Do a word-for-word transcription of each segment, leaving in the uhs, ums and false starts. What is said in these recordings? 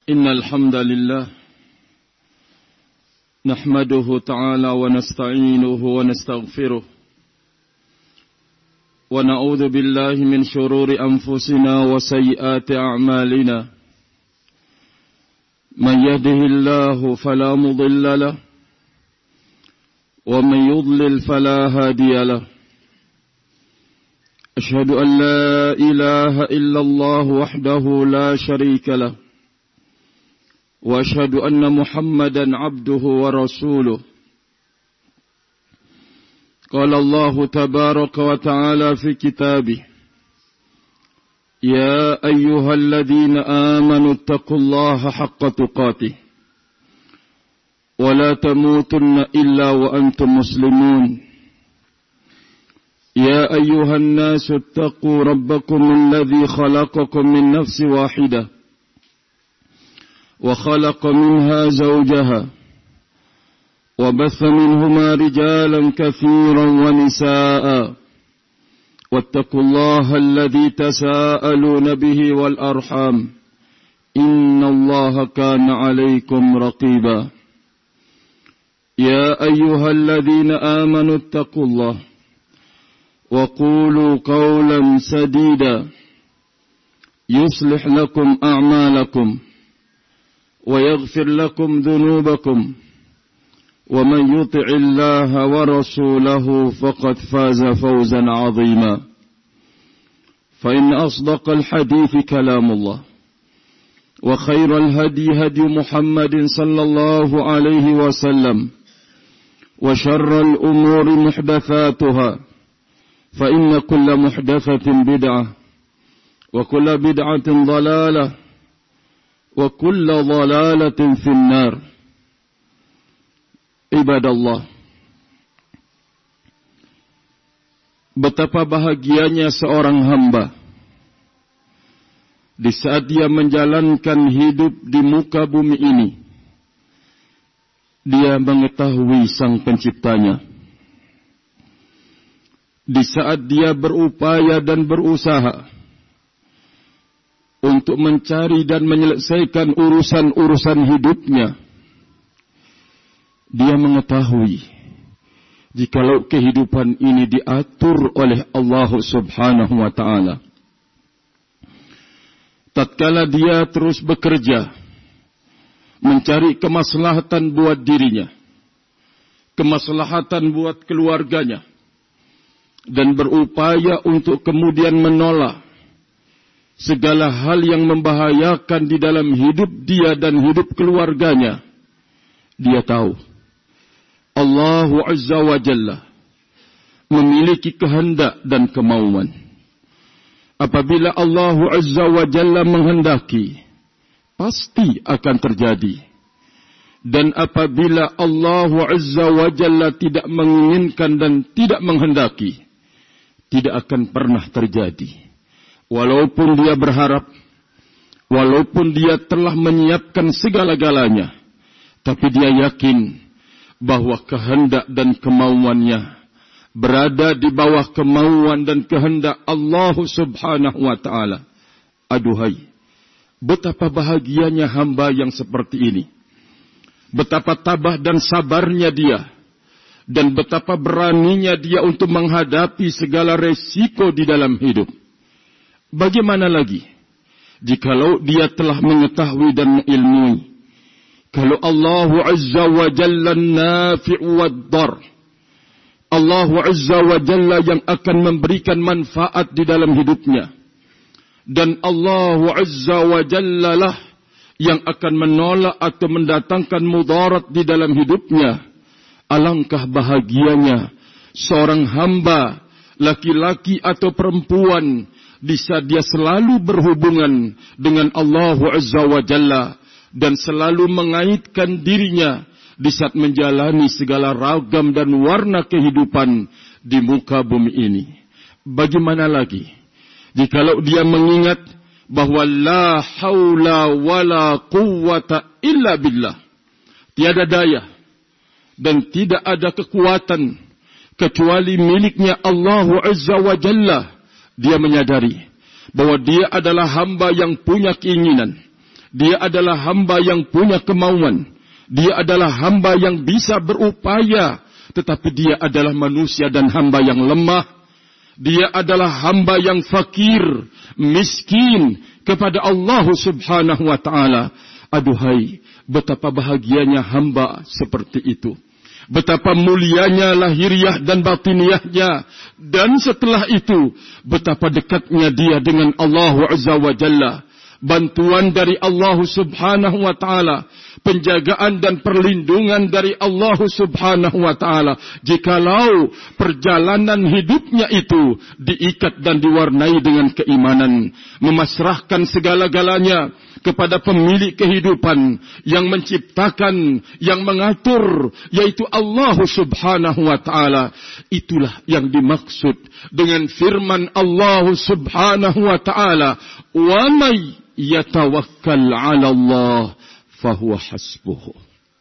إن الحمد لله نحمده تعالى ونستعينه ونستغفره ونعوذ بالله من شرور أنفسنا وسيئات أعمالنا من يهده الله فلا مضل له ومن يضلل فلا هادي له أشهد أن لا إله إلا الله وحده لا شريك له وأشهد أن محمدا عبده ورسوله قال الله تبارك وتعالى في كتابه يا أيها الذين آمنوا اتقوا الله حق تقاته ولا تموتن إلا وأنتم مسلمون يا أيها الناس اتقوا ربكم الذي خلقكم من نفس واحدة وخلق منها زوجها وبث منهما رجالا كثيرا ونساء واتقوا الله الذي تساءلون به والأرحام إن الله كان عليكم رقيبا يا أيها الذين آمنوا اتقوا الله وقولوا قولا سديدا يصلح لكم أعمالكم ويغفر لكم ذنوبكم ومن يطع الله ورسوله فقد فاز فوزا عظيما فإن أصدق الحديث كلام الله وخير الهدي هدي محمد صلى الله عليه وسلم وشر الأمور محدثاتها فإن كل محدثة بدعة وكل بدعة ضلالة وكل ضلالة في النار. Ibadallah, betapa bahagianya seorang hamba di saat dia menjalankan hidup di muka bumi ini, dia mengetahui Sang Penciptanya. Di saat dia berupaya dan berusaha untuk mencari dan menyelesaikan urusan-urusan hidupnya, dia mengetahui jikalau kehidupan ini diatur oleh Allah Subhanahu wa Ta'ala. Tatkala dia terus bekerja mencari kemaslahatan buat dirinya, kemaslahatan buat keluarganya, dan berupaya untuk kemudian menolak segala hal yang membahayakan di dalam hidup dia dan hidup keluarganya, dia tahu Allah Azza wa Jalla memiliki kehendak dan kemauan. Apabila Allah Azza wa Jalla menghendaki, pasti akan terjadi. Dan apabila Allah Azza wa Jalla tidak menginginkan dan tidak menghendaki, tidak akan pernah terjadi. Walaupun dia berharap, walaupun dia telah menyiapkan segala-galanya, tapi dia yakin bahwa kehendak dan kemauannya berada di bawah kemauan dan kehendak Allah Subhanahu wa Ta'ala. Aduhai, betapa bahagianya hamba yang seperti ini. Betapa tabah dan sabarnya dia, dan betapa beraninya dia untuk menghadapi segala resiko di dalam hidup. Bagaimana lagi jikalau dia telah mengetahui dan mengilmui kalau Allah Azza wa Jalla nafi'u wad-dar, Allah Azza wa Jalla yang akan memberikan manfaat di dalam hidupnya, dan Allah Azza wa Jalla lah yang akan menolak atau mendatangkan mudarat di dalam hidupnya. Alangkah bahagianya seorang hamba, laki-laki atau perempuan, di saat dia selalu berhubungan dengan Allah Azza wa Jalla dan selalu mengaitkan dirinya di saat menjalani segala ragam dan warna kehidupan di muka bumi ini. Bagaimana lagi jikalau dia mengingat bahwa la haula wala quwwata illa billah, tiada daya dan tidak ada kekuatan kecuali miliknya Allah Azza wa Jalla. Dia menyadari bahwa dia adalah hamba yang punya keinginan, Dia adalah hamba yang punya kemauan. Dia adalah hamba yang bisa berupaya. Tetapi dia adalah manusia dan hamba yang lemah. Dia adalah hamba yang fakir, miskin kepada Allah subhanahu wa ta'ala. Aduhai, betapa bahagianya hamba seperti itu. Betapa mulianya lahiriah dan batiniahnya. Dan setelah itu, betapa dekatnya dia dengan Allah Azza wa Jalla. Bantuan dari Allah subhanahu wa ta'ala. Penjagaan dan perlindungan dari Allah subhanahu wa ta'ala. Jikalau perjalanan hidupnya itu diikat dan diwarnai dengan keimanan. Memasrahkan segala-galanya kepada pemilik kehidupan yang menciptakan, yang mengatur, yaitu Allah subhanahu wa ta'ala. Itulah yang dimaksud dengan firman Allah subhanahu wa ta'ala. Wa may yatawakkal 'ala Allah fahuwa hasbuhu.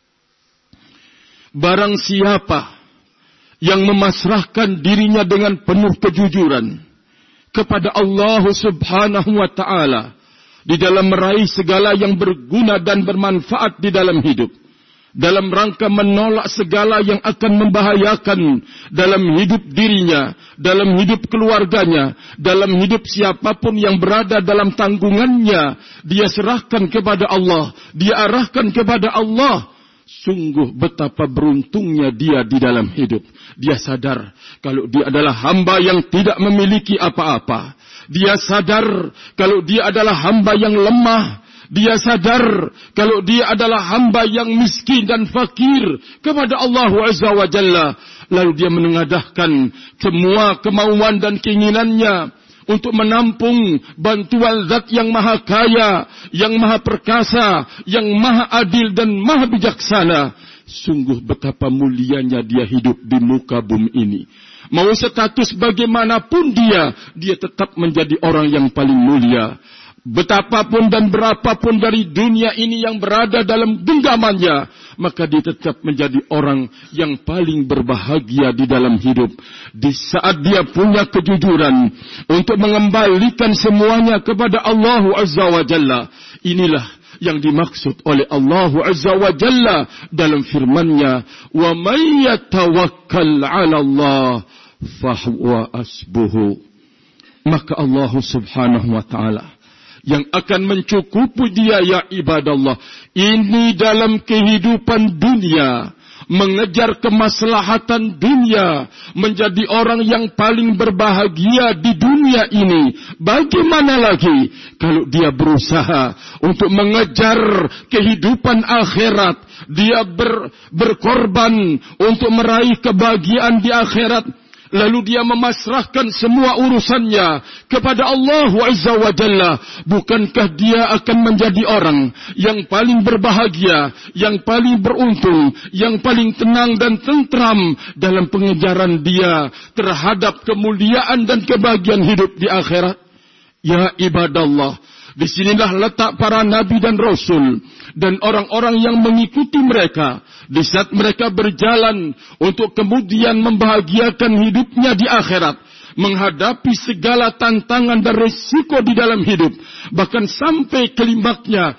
Barang siapa yang memasrahkan dirinya dengan penuh kejujuran kepada Allah subhanahu wa ta'ala di dalam meraih segala yang berguna dan bermanfaat di dalam hidup, dalam rangka menolak segala yang akan membahayakan dalam hidup dirinya, dalam hidup keluarganya, dalam hidup siapapun yang berada dalam tanggungannya, dia serahkan kepada Allah, dia arahkan kepada Allah. Sungguh betapa beruntungnya dia di dalam hidup. Dia sadar kalau dia adalah hamba yang tidak memiliki apa-apa. Dia sadar kalau dia adalah hamba yang lemah. Dia sadar kalau dia adalah hamba yang miskin dan fakir kepada Allah Azza wa Jalla. Lalu dia menengadahkan semua kemauan dan keinginannya untuk menampung bantuan zat yang maha kaya, yang maha perkasa, yang maha adil dan maha bijaksana. Sungguh betapa mulianya dia hidup di muka bumi ini. Mau status bagaimanapun dia, dia tetap menjadi orang yang paling mulia. Betapapun dan berapapun dari dunia ini yang berada dalam genggamannya, maka dia tetap menjadi orang yang paling berbahagia di dalam hidup. Di saat dia punya kejujuran untuk mengembalikan semuanya kepada Allah Azza wa Jalla. Inilah yang dimaksud oleh Allah Azza wa Jalla dalam firman-Nya, "Wa may yatawakkal 'ala Allah fahuwa hasbuhu." Maka Allah Subhanahu wa taala yang akan mencukupi dia, ya ibadallah. Ini dalam kehidupan dunia, mengejar kemaslahatan dunia, menjadi orang yang paling berbahagia di dunia ini. Bagaimana lagi kalau dia berusaha untuk mengejar kehidupan akhirat, dia ber, berkorban untuk meraih kebahagiaan di akhirat. Lalu dia memasrahkan semua urusannya kepada Allah Azza wa Jalla. Bukankah dia akan menjadi orang yang paling berbahagia, yang paling beruntung, yang paling tenang dan tentram dalam pengejaran dia terhadap kemuliaan dan kebahagiaan hidup di akhirat? Ya ibadallah, di sinilah letak para nabi dan rasul dan orang-orang yang mengikuti mereka. Di saat mereka berjalan untuk kemudian membahagiakan hidupnya di akhirat, menghadapi segala tantangan dan risiko di dalam hidup, bahkan sampai klimaknya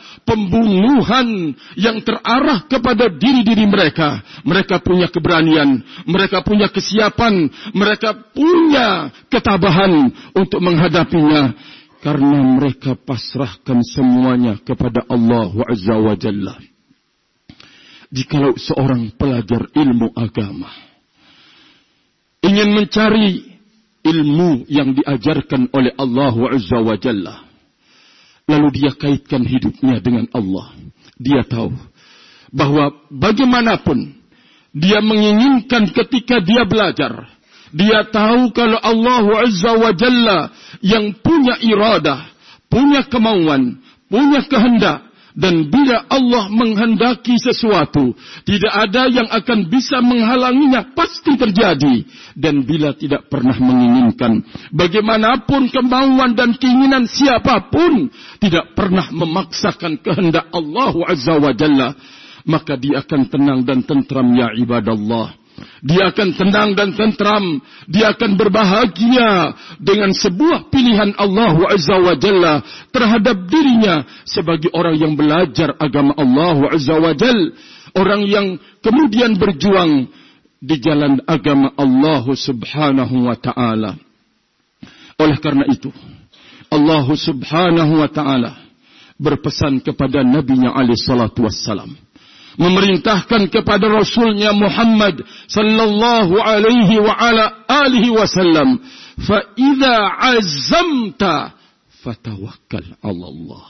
pembunuhan yang terarah kepada diri-diri mereka. Mereka punya keberanian, mereka punya kesiapan, mereka punya ketabahan untuk menghadapinya, karena mereka pasrahkan semuanya kepada Allah Azza wa Jalla. Jikalau seorang pelajar ilmu agama ingin mencari ilmu yang diajarkan oleh Allah Azza wa Jalla, lalu dia kaitkan hidupnya dengan Allah, dia tahu bahwa bagaimanapun dia menginginkan ketika dia belajar, dia tahu kalau Allah Azza wa Jalla yang punya iradah, punya kemauan, punya kehendak. Dan bila Allah menghendaki sesuatu, tidak ada yang akan bisa menghalanginya, pasti terjadi. Dan bila tidak pernah menginginkan, bagaimanapun kemauan dan keinginan siapapun, tidak pernah memaksakan kehendak Allah Azza wa Jalla, maka dia akan tenang dan tentram, ya ibadallah. Dia akan tenang dan tentram. Dia akan berbahagia dengan sebuah pilihan Allah Azza wa Jalla terhadap dirinya sebagai orang yang belajar agama Allah Azza wa Jalla. Orang yang kemudian berjuang di jalan agama Allah Subhanahu wa Ta'ala. Oleh karena itu, Allah Subhanahu wa Ta'ala berpesan kepada Nabi-Nya alaihi salatu wassalam, memerintahkan kepada Rasulnya Muhammad sallallahu alaihi wa ala alihi wasallam, fa idza azamta fatawakkal 'ala Allah.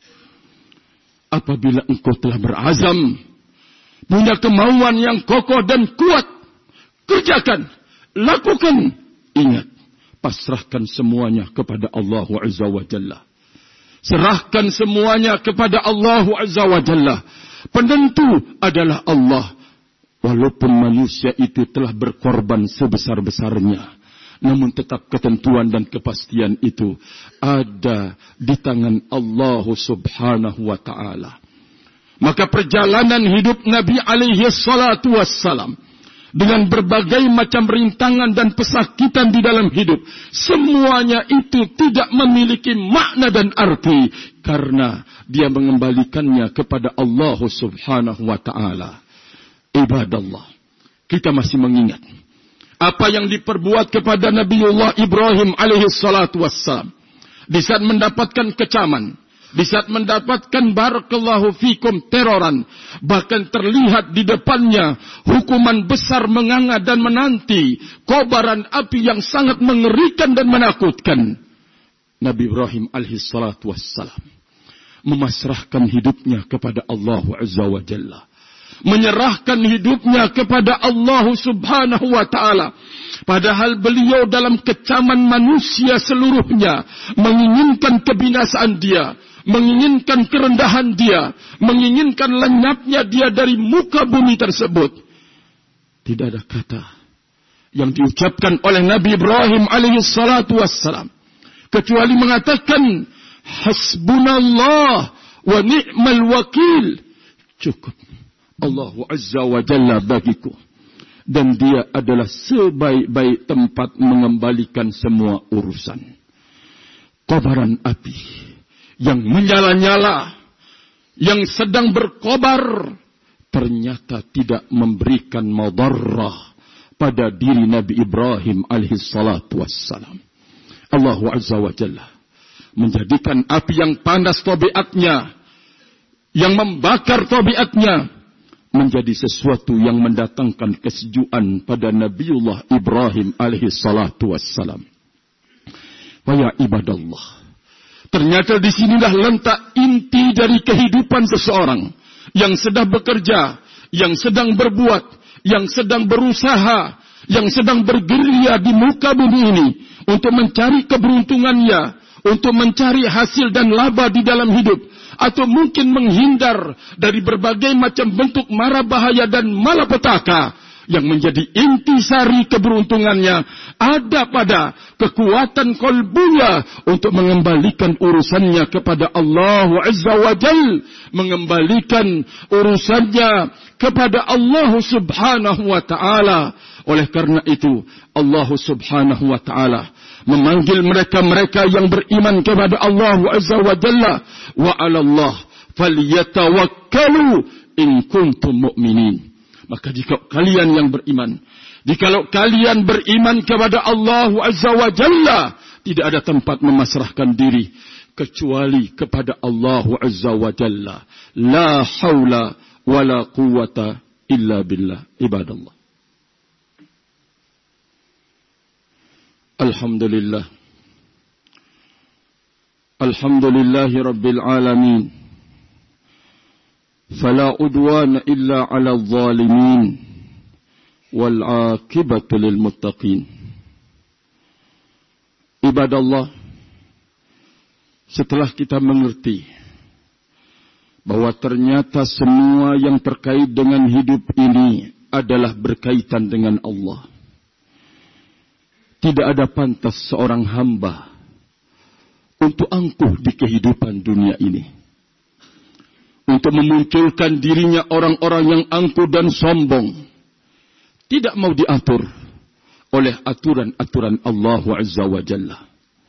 Apabila engkau telah berazam, punya kemauan yang kokoh dan kuat, kerjakan, lakukan. Ingat, pasrahkan semuanya kepada Allah Azza wa Jalla. Serahkan semuanya kepada Allah Azza wa Jalla. Penentu adalah Allah. Walaupun manusia itu telah berkorban sebesar-besarnya, namun tetap ketentuan dan kepastian itu ada di tangan Allah Subhanahu wa Ta'ala. Maka perjalanan hidup Nabi alaihi salatu wassalam, dengan berbagai macam rintangan dan pesakitan di dalam hidup, semuanya itu tidak memiliki makna dan arti karena dia mengembalikannya kepada Allah Subhanahu wa Ta'ala. Ibadallah, kita masih mengingat apa yang diperbuat kepada Nabiullah Ibrahim alaihi salatu wassalam di saat mendapatkan kecaman, di saat mendapatkan barakallahu fikum teroran, bahkan terlihat di depannya hukuman besar menganga dan menanti, kobaran api yang sangat mengerikan dan menakutkan. Nabi Ibrahim alaihi salatu wassalam memasrahkan hidupnya kepada Allah Azza wa Jalla, menyerahkan hidupnya kepada Allah Subhanahu wa Ta'ala. Padahal beliau dalam kecaman manusia seluruhnya menginginkan kebinasaan dia, menginginkan kerendahan dia, menginginkan lenyapnya dia dari muka bumi tersebut. Tidak ada kata yang diucapkan oleh Nabi Ibrahim alaihi salatu wassalam kecuali mengatakan, hasbunallah wa ni'mal wakil. Cukup Allah Azza wa Jalla bagiku, dan dia adalah sebaik-baik tempat mengembalikan semua urusan. Kobaran api yang menyala-nyala, yang sedang berkobar, ternyata tidak memberikan madarrah pada diri Nabi Ibrahim alaihi salatu wassalam. Allah Azza wa Jalla menjadikan api yang panas tabiatnya, yang membakar tabiatnya, menjadi sesuatu yang mendatangkan kesejukan pada Nabiullah Ibrahim alaihi salatu wassalam. Wa ya ibadallah, ternyata di sinilah letak inti dari kehidupan seseorang yang sedang bekerja, yang sedang berbuat, yang sedang berusaha, yang sedang bergerilya di muka bumi ini untuk mencari keberuntungannya, untuk mencari hasil dan laba di dalam hidup, atau mungkin menghindar dari berbagai macam bentuk mara bahaya dan malapetaka. Yang menjadi intisari keberuntungannya ada pada kekuatan kolbunya untuk mengembalikan urusannya kepada Allah Azza wa Jal, mengembalikan urusannya kepada Allah Subhanahu wa Ta'ala. Oleh karena itu Allah Subhanahu wa Ta'ala memanggil mereka-mereka yang beriman kepada Allah Azza wa Jalla, wa 'alallah falyatawakkalu in kuntum mu'minin. Maka jika kalian yang beriman, jikalau kalian beriman kepada Allah Azza wa Jalla, tidak ada tempat memasrahkan diri kecuali kepada Allah Azza wa Jalla. La haula wa la quwwata illa billah. Ibadallah, Alhamdulillah, Alhamdulillahi Rabbil Alamin, fala udwana illa ala zalimin, wal aqibatu lil muttaqin. Ibadallah, setelah kita mengerti bahwa ternyata semua yang terkait dengan hidup ini adalah berkaitan dengan Allah, tidak ada pantas seorang hamba untuk angkuh di kehidupan dunia ini, untuk memunculkan dirinya orang-orang yang angkuh dan sombong, tidak mau diatur oleh aturan-aturan Allah Azza wa Jalla.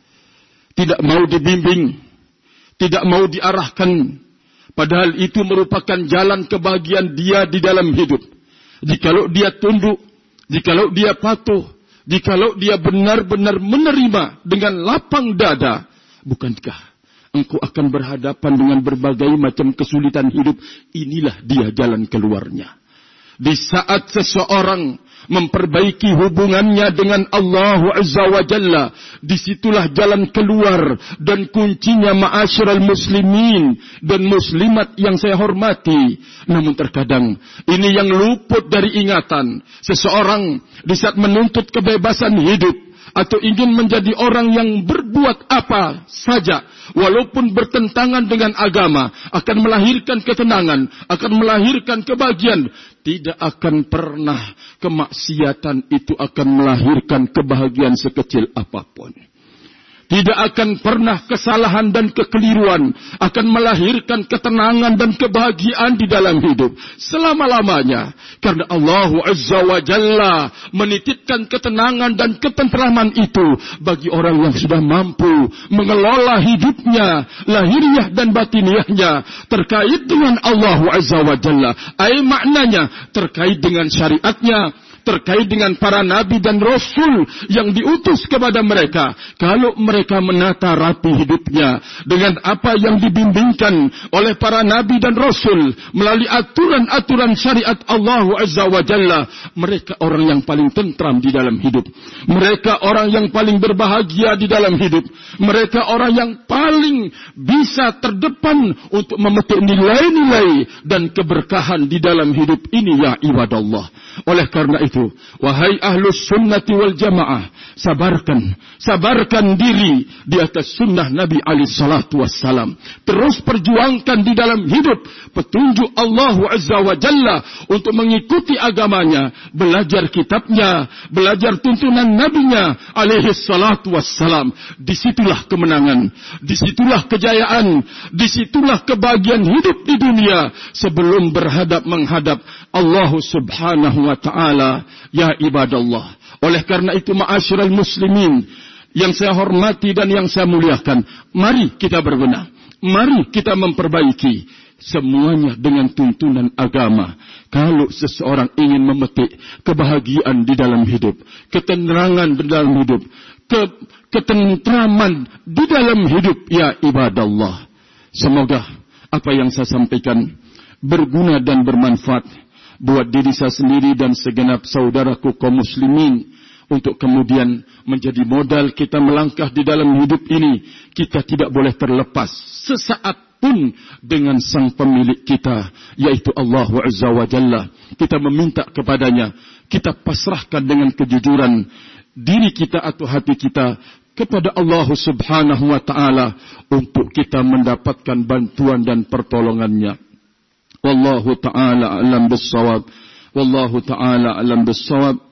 Tidak mau dibimbing, tidak mau diarahkan, padahal itu merupakan jalan kebahagiaan dia di dalam hidup. Jikalau dia tunduk, jikalau dia patuh, jikalau dia benar-benar menerima dengan lapang dada, bukankah engkau akan berhadapan dengan berbagai macam kesulitan hidup? Inilah dia jalan keluarnya. Di saat seseorang memperbaiki hubungannya dengan Allah Azza wa Jalla, disitulah jalan keluar dan kuncinya, ma'asyiral muslimin dan muslimat yang saya hormati. Namun terkadang ini yang luput dari ingatan. Seseorang di saat menuntut kebebasan hidup atau ingin menjadi orang yang berbuat apa saja, walaupun bertentangan dengan agama, akan melahirkan ketenangan, akan melahirkan kebahagiaan. Tidak akan pernah kemaksiatan itu akan melahirkan kebahagiaan sekecil apapun. Tidak akan pernah kesalahan dan kekeliruan akan melahirkan ketenangan dan kebahagiaan di dalam hidup selama-lamanya. Karena Allah Azza wa Jalla menitipkan ketenangan dan ketentraman itu bagi orang yang sudah mampu mengelola hidupnya, lahiriah dan batiniahnya, terkait dengan Allah Azza wa Jalla. Ai maknanya terkait dengan syariatnya, terkait dengan para nabi dan rasul yang diutus kepada mereka. Kalau mereka menata rapi hidupnya dengan apa yang dibimbingkan oleh para nabi dan rasul melalui aturan-aturan syariat Allah Azza wa Jalla, mereka orang yang paling tentram di dalam hidup. Mereka orang yang paling berbahagia di dalam hidup. Mereka orang yang paling bisa terdepan untuk memetik nilai-nilai dan keberkahan di dalam hidup ini, ya ibadallah. Oleh karena itu, wahai ahlus sunnati wal jamaah, sabarkan, sabarkan diri di atas sunnah Nabi alaihi salatu wassalam. Terus perjuangkan di dalam hidup petunjuk Allah Azza wa Jalla untuk mengikuti agamanya, belajar kitabnya, belajar tuntunan nabinya alaihi salatu wassalam. Disitulah kemenangan, disitulah kejayaan, disitulah kebahagiaan hidup di dunia sebelum berhadap menghadap Allah subhanahu wa ta'ala, ya ibadallah. Oleh karena itu, ma'asyiral muslimin yang saya hormati dan yang saya muliakan, mari kita berbenah, mari kita memperbaiki semuanya dengan tuntunan agama. Kalau seseorang ingin memetik kebahagiaan di dalam hidup, ketenangan di dalam hidup, ke, ketentraman di dalam hidup, ya ibadallah, semoga apa yang saya sampaikan berguna dan bermanfaat buat diri saya sendiri dan segenap saudaraku kaum muslimin, untuk kemudian menjadi modal kita melangkah di dalam hidup ini. Kita tidak boleh terlepas sesaat pun dengan sang pemilik kita, yaitu Allah Azza wa Jalla. Kita meminta kepadanya, kita pasrahkan dengan kejujuran diri kita atau hati kita kepada Allah subhanahu wa ta'ala untuk kita mendapatkan bantuan dan pertolongannya. Wallahu ta'ala a'lam bis-shawab. Wallahu ta'ala a'lam bis-shawab.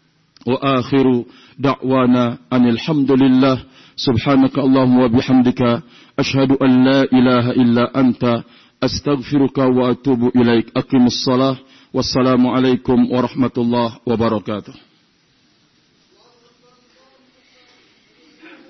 Wa akhiru da'wana anil hamdulillah. Subhanaka Allahumma wa bihamdika asyhadu an la ilaha illa anta astaghfiruka wa atubu ilaik. Aqimus shalah. Wassalamu alaikum warahmatullahi wabarakatuh.